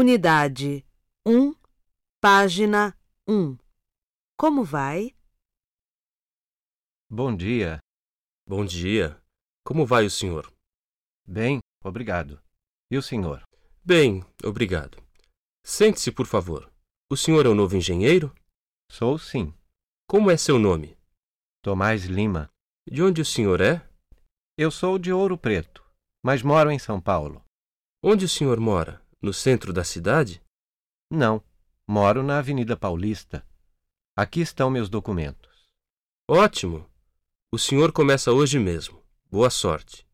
Unidade 1, página 1. Como vai? Bom dia. Bom dia. Como vai o senhor? Bem, obrigado. E o senhor? Bem, obrigado. Sente-se, por favor. O senhor é o novo engenheiro? Sou sim. Como é seu nome? Tomás Lima. De onde o senhor é? Eu sou de Ouro Preto, mas moro em São Paulo. Onde o senhor mora? No centro da cidade? Não, moro na Avenida Paulista. Aqui estão meus documentos. Ótimo! O senhor começa hoje mesmo. Boa sorte.